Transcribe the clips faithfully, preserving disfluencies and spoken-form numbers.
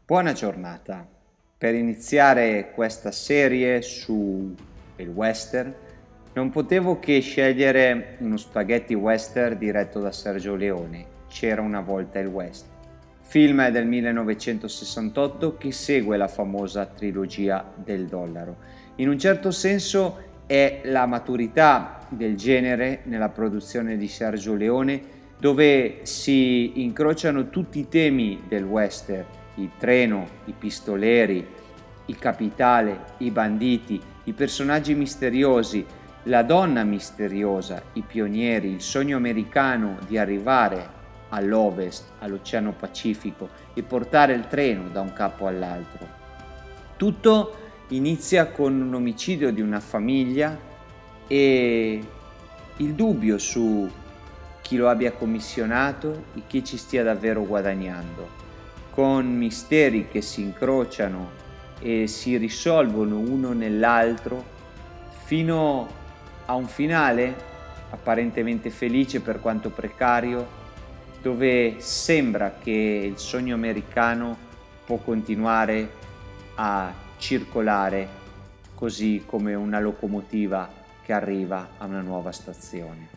Buona giornata. Per iniziare questa serie su il western non potevo che scegliere uno spaghetti western diretto da Sergio Leone, C'era una volta il West. Film del millenovecentosessantotto che segue la famosa trilogia del dollaro. In un certo senso è la maturità del genere nella produzione di Sergio Leone, dove si incrociano tutti i temi del western: il treno, i pistoleri, il capitale, i banditi, i personaggi misteriosi, la donna misteriosa, i pionieri, il sogno americano di arrivare all'ovest, all'Oceano Pacifico e portare il treno da un capo all'altro. Tutto inizia con un omicidio di una famiglia e il dubbio su chi lo abbia commissionato e chi ci stia davvero guadagnando, con misteri che si incrociano e si risolvono uno nell'altro fino a un finale apparentemente felice per quanto precario, dove sembra che il sogno americano può continuare a circolare così come una locomotiva che arriva a una nuova stazione.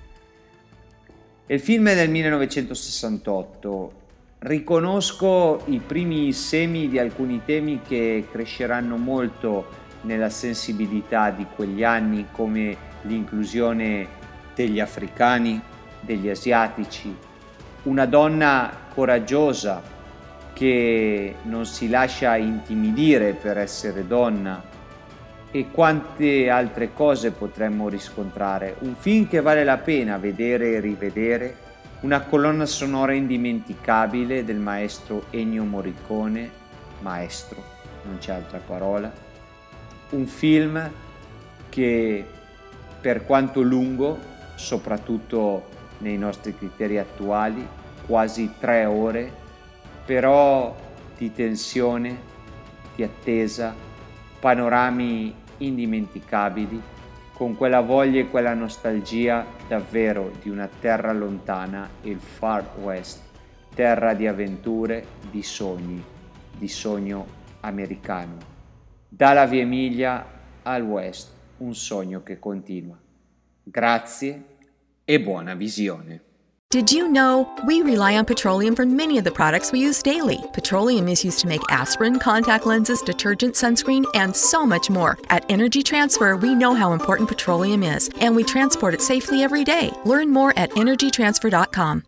Il film è del millenovecentosessantotto. Riconosco i primi semi di alcuni temi che cresceranno molto nella sensibilità di quegli anni, come l'inclusione degli africani, degli asiatici, una donna coraggiosa che non si lascia intimidire per essere donna e quante altre cose potremmo riscontrare. Un film che vale la pena vedere e rivedere, una colonna sonora indimenticabile del maestro Ennio Morricone, maestro, non c'è altra parola, un film che per quanto lungo, soprattutto nei nostri criteri attuali, quasi tre ore, però di tensione, di attesa, panorami indimenticabili, con quella voglia e quella nostalgia davvero di una terra lontana, il Far West, terra di avventure, di sogni, di sogno americano. Dalla Via Emilia al West, un sogno che continua. Grazie e buona visione. Did you know we rely on petroleum for many of the products we use daily? Petroleum is used to make aspirin, contact lenses, detergent, sunscreen, and so much more. At Energy Transfer, we know how important petroleum is, and we transport it safely every day. Learn more at energy transfer dot com.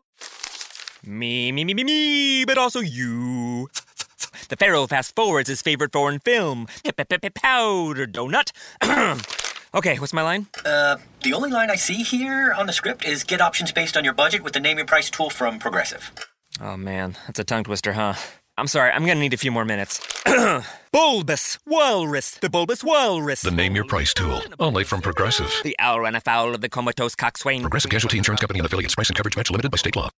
Me, me, me, me, me, but also you. The Pharaoh fast forwards his favorite foreign film, Powder Donut. Okay, what's my line? Uh, the only line I see here on the script is get options based on your budget with the Name Your Price tool from Progressive. Oh man, that's a tongue twister, huh? I'm sorry, I'm gonna need a few more minutes. Bulbous Walrus, the Bulbous Walrus. The Name Your Price tool, only from Progressive. The owl ran afoul of the comatose coxswain. Progressive Casualty Insurance Company and affiliates. Price and coverage match limited by state law.